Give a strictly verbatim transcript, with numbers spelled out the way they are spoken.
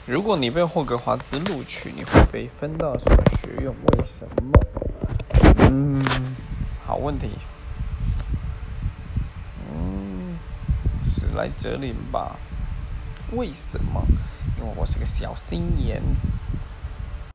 如果你被霍格华兹录取，你会被分到什么学院？为什么？嗯，好问题。嗯，史莱哲林吧？为什么？因为我是个小心眼。